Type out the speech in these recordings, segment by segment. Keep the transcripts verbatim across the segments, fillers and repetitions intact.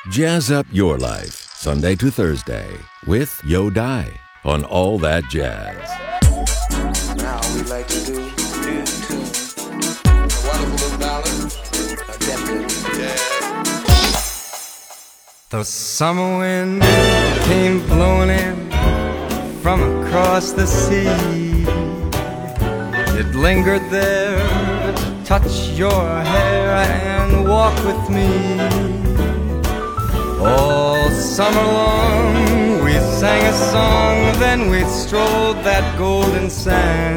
Jazz up your life, Sunday to Thursday, with Yo Dai on All That Jazz. Now we like to do new tune. A wonderful little ballad. A definite jazz. The summer wind came blowing in from across the sea. It lingered there to touch your hair and walk with me. All summer long we sang a song, then we strolled that golden sand.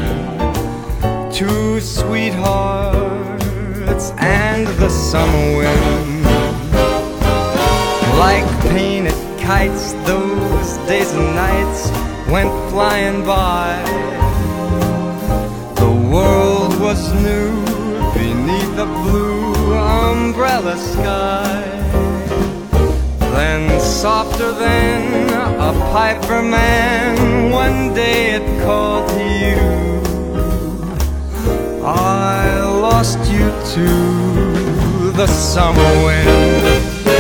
Two sweethearts and the summer wind. Like painted kites, those days and nights went flying by. The world was new beneath the blue umbrella sky. Then softer than a piper man, one day it called to you. I lost you to the summer wind.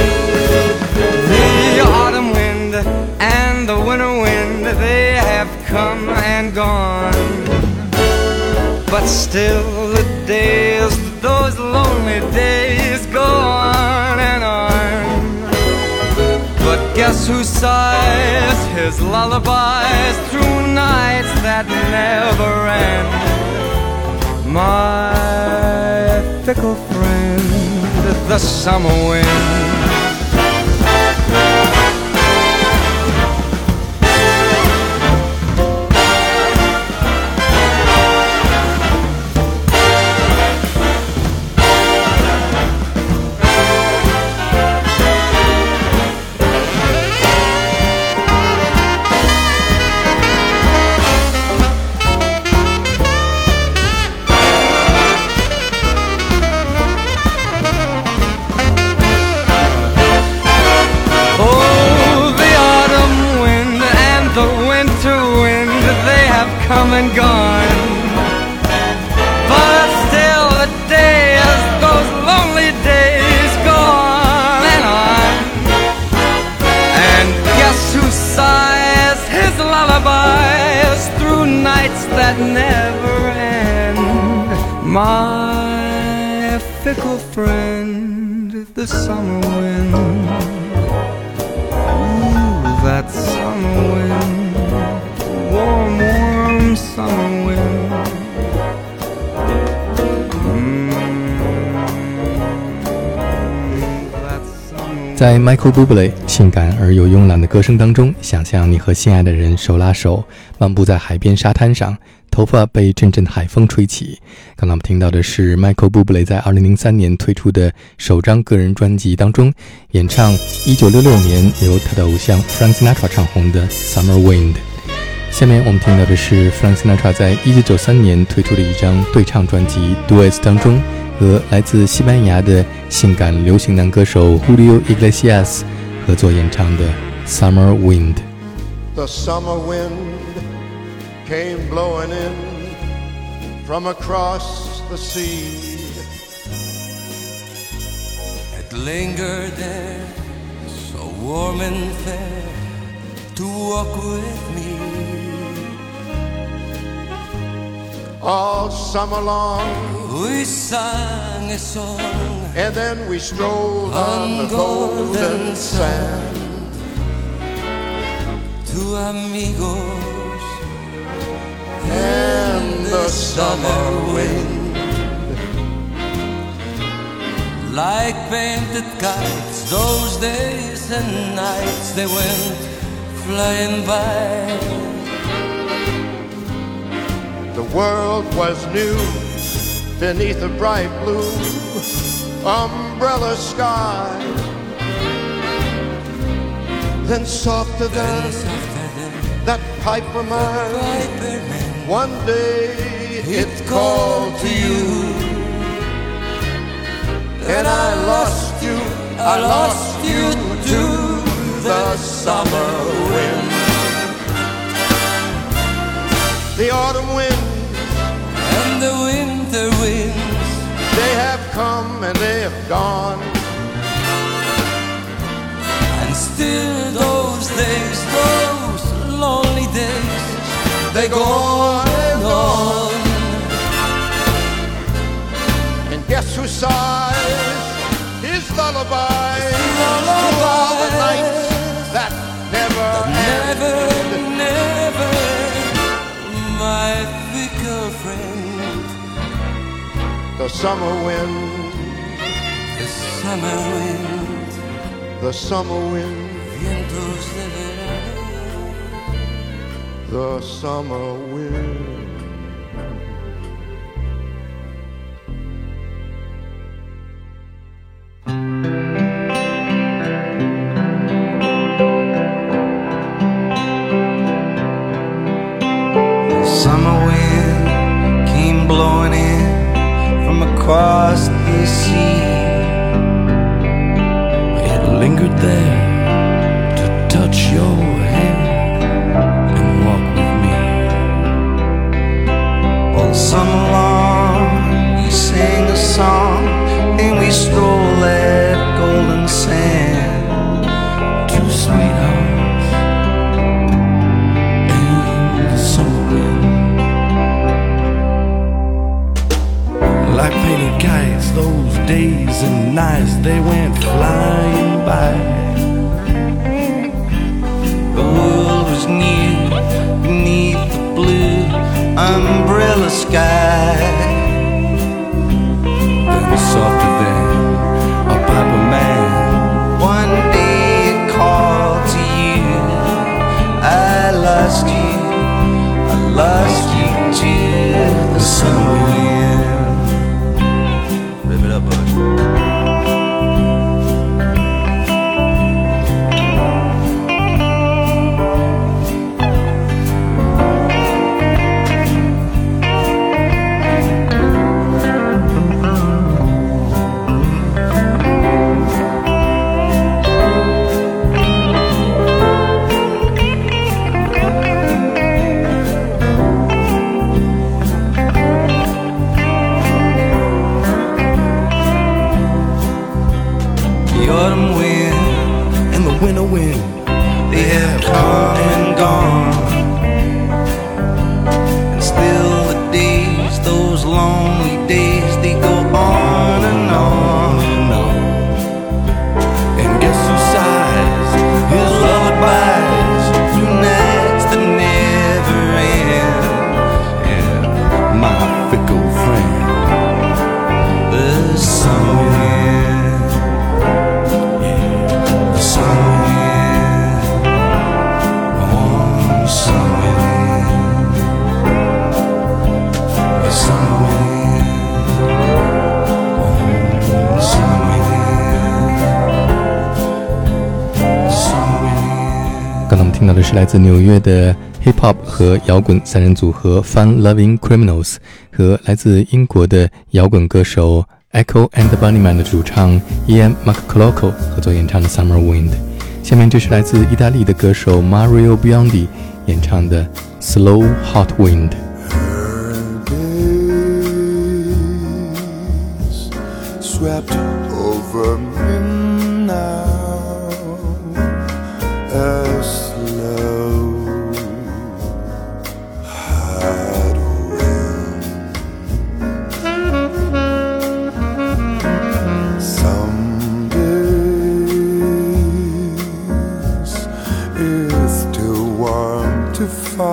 The autumn wind and the winter wind, they have come and gone. But still the days, those lonely days go on and on. But guess who sighs his lullabies through nights that never end? My fickle friend, the summer wind. Come and gone, but still the days, those lonely days go on and on. And guess who sighs his lullabies through nights that never end? My fickle friend, the summer wind. Ooh, that summer wind, warm, warm summer wind. Mm, that summer wind. 在 Michael Bublé 性感而又慵懒的歌声当中，想象你和心爱的人手拉手漫步在海边沙滩上，头发被阵阵海风吹起。刚才我们听到的是 Michael Bublé 在二零零三年推出的首张个人专辑当中演唱一九六六年由他的偶像 Frank Sinatra 唱红的 Summer Wind。下面我们听到的是 Frank Sinatra 在一九九三年推出的一张对唱专辑 Duets 当中和来自西班牙的性感流行男歌手 Julio Iglesias 合作演唱的 Summer Wind。 The summer wind came blowing in from across the sea. It lingered there, so warm and fair, to walk with me. All summer long We sang a song, and then we strolled on the golden sand. Two amigos And the summer wind, like painted kites, those days and nights they went flying by. the world was new beneath a bright blue umbrella sky. Then softer than that piper man, one day it called to you. And I lost you, I lost you to the summer wind. The autumn wind And the winter winds, they have come and they have gone. still those days, those lonely days, they go on and on. And guess who sighs his lullaby Lullaby. to all the nights that never end. Never, never, my fickle friend. The summer wind, The summer wind, the summer wind, vientos de verano. the summer wind. Summer wind came blowing in from across the sea. It lingered there to touch your hand and walk with me. All summer long we sang a song and we strolled that golden sand. Two sweethearts and the summer wind. Like painted kites, those days and nights, they went flying by. The world was new beneath the blue umbrella sky. Then softer than a piper man, One day it called to you. I lost you, I lost you to the summer wind. Rip it up, bud. The autumn wind and the winter wind, they have come and gone. And still the days, those lonely days, they go on and on and on. and guess who sighs his lullabies Through nights that never end. and my fickle friend. The summer wind, the summer wind, oh, summer wind, the summer wind, oh, summer wind, summer wind. 刚才我们听到的是来自纽约的 Hip Hop 和摇滚三人组合 Fun Loving Criminals 和来自英国的摇滚歌手 Echo and the Bunnymen 的主唱 Ian McCloco 合作演唱的 Summer Wind。下面这是来自意大利的歌手 Mario Biondi 演唱的 Slow Hot Wind。 Days swept over me now, as slow hot wind. Some days it's too warm to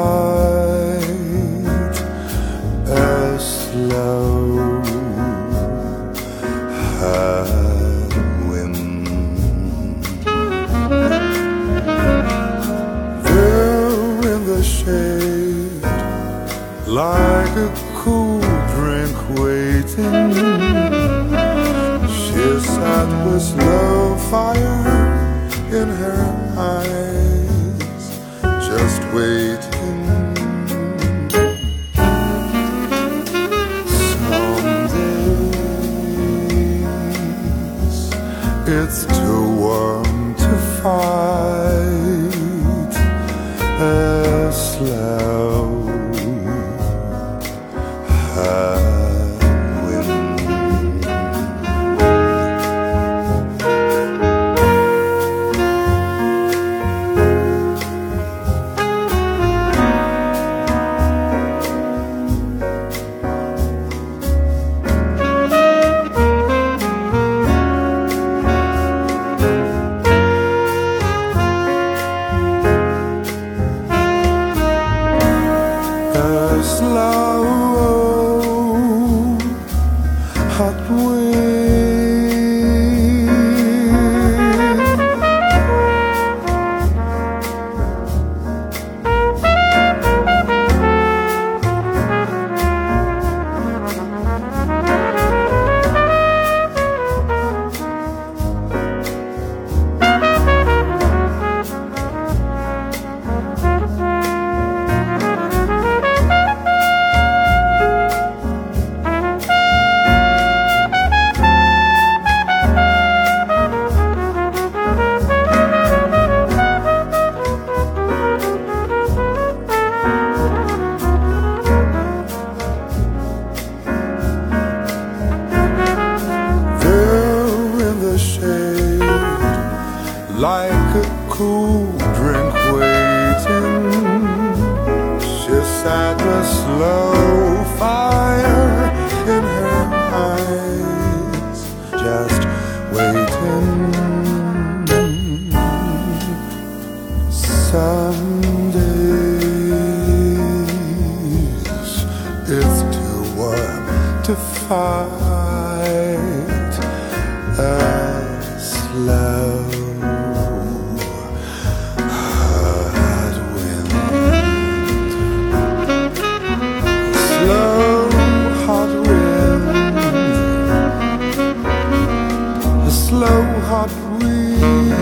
fight, as slow hot wind. There in the shade, like a cool drink waiting, she sat with slow fire in her eyes, just waiting. Some days it's too warm to fight, as slow hot wind. like a cool drink waiting. She sat with slow fire in her eyes, just waiting. Some days it's too warm to fight a slow hot wind. Slow hot wind. A slow hot wind.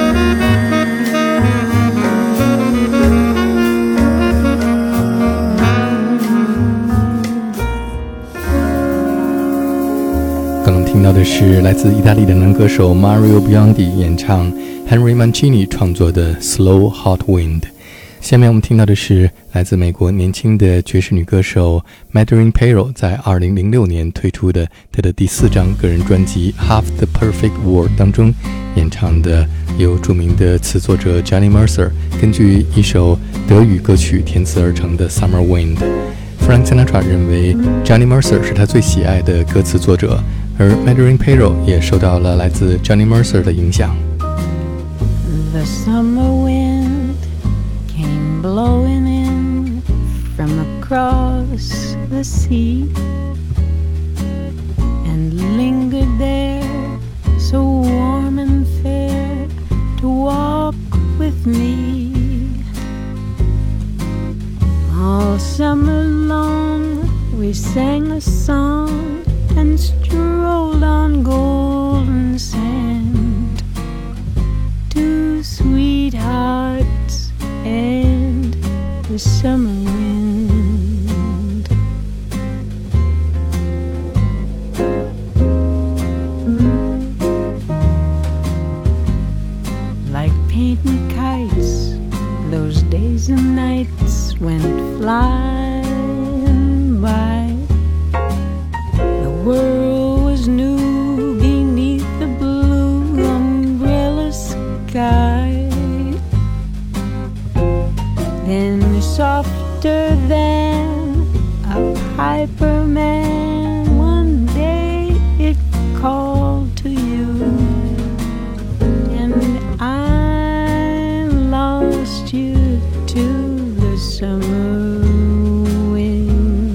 听到的是来自意大利的男歌手 Mario Biondi 演唱 Henry Mancini 创作的 Slow Hot Wind。 下面我们听到的是来自美国年轻的爵士女歌手 Madeline Payroll 在二零零六年推出的她的第四张个人专辑 Half the Perfect World 当中演唱的由著名的词作者 Johnny Mercer 根据一首德语歌曲填词而成的 Summer Wind。 Frank Sinatra 认为 Johnny Mercer 是他最喜爱的歌词作者，而 Madeline Payroll 也受到了来自 Johnny Mercer 的影响。 The summer wind came blowing in from across the sea and lingered there so warm and fair to walk with me. All summer long we sang a song and strolled on golden sand, two sweethearts and the summer wind. Like painting kites, those days and nights went flying by. The world was new beneath the blue umbrella sky. Then softer than a piper man, one day it called to you, and I lost you to the summer wind.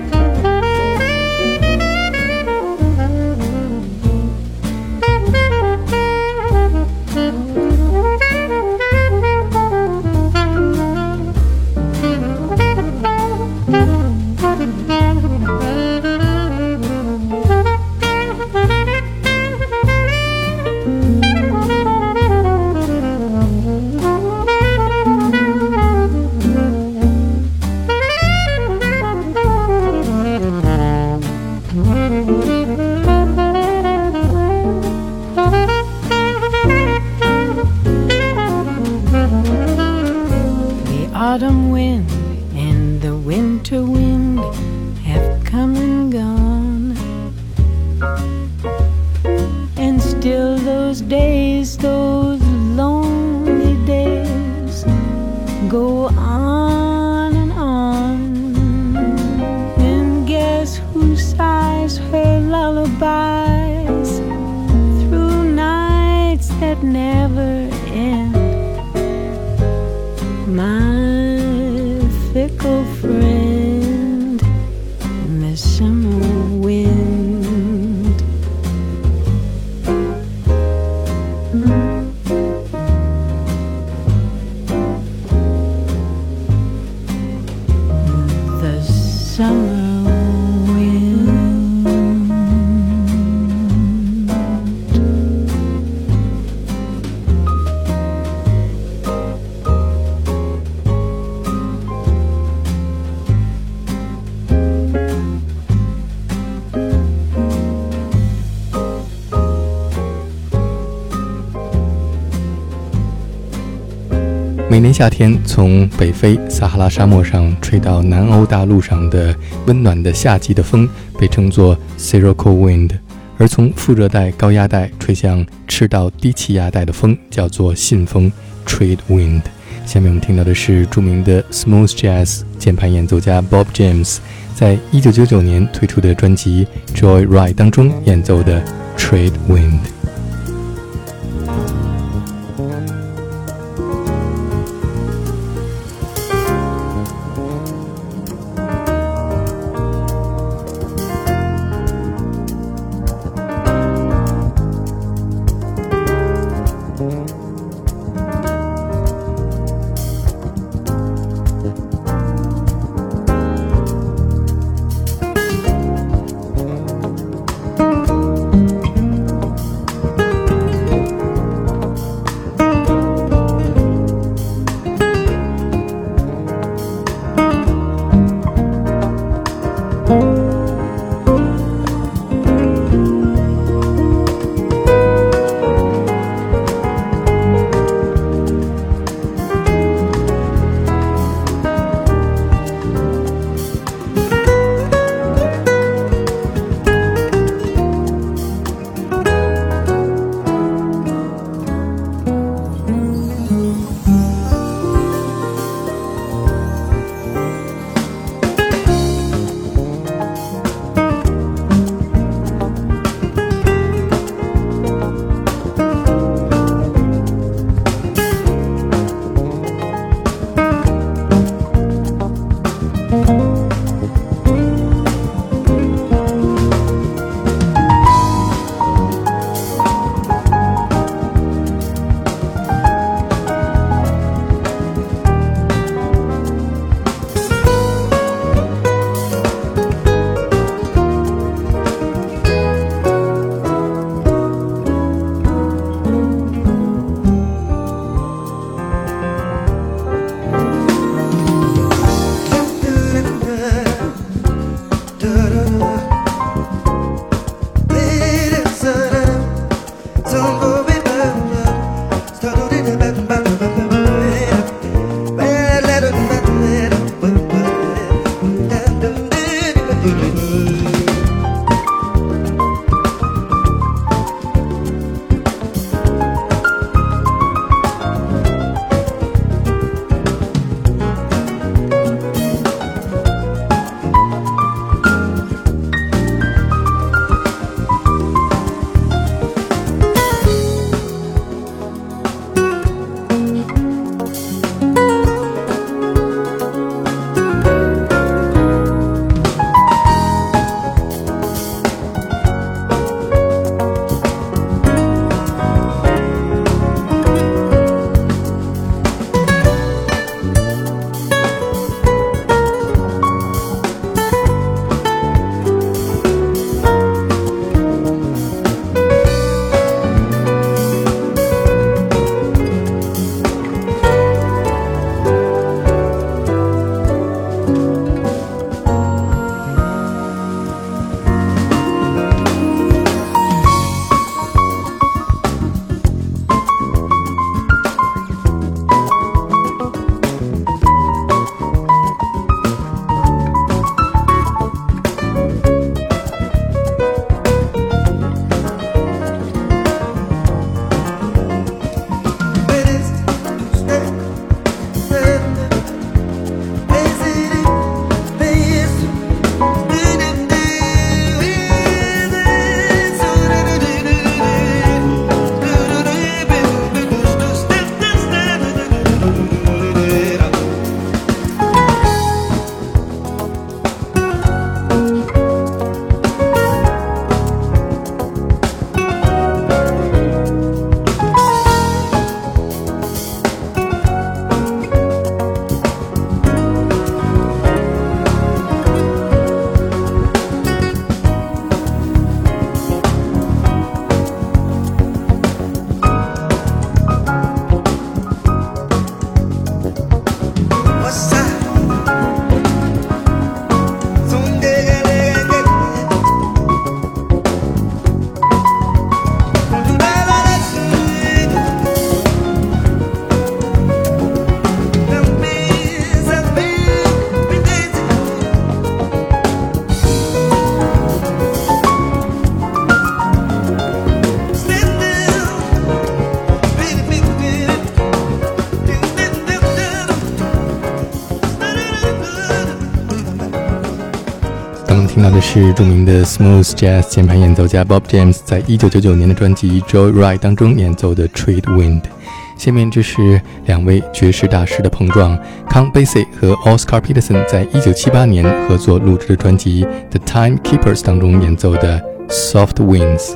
Autumn wind and the winter wind have come and gone, and still those days, those lonely days go on and on. And guess who sighs her lullabies through nights that never end? My fickle friend, the summer wind. The summer wind. 每年夏天，从北非撒哈拉沙漠上吹到南欧大陆上的温暖的夏季的风被称作 Sirocco Wind， 而从副热带高压带吹向赤道低气压带的风叫做信风 Trade Wind。 下面我们听到的是著名的 Smooth Jazz 键盘演奏家 Bob James 在一九九九年推出的专辑 Joyride 当中演奏的 Trade Wind。 听到的是著名的 Smooth Jazz 键盘演奏家 Bob James 在一九九九年的专辑 Joyride 当中演奏的 Trade Wind。下面这是两位爵士大师的碰撞，康贝西和 Oscar Peterson 在一九七八年合作录制的专辑 The Timekeepers 当中演奏的 Soft Winds。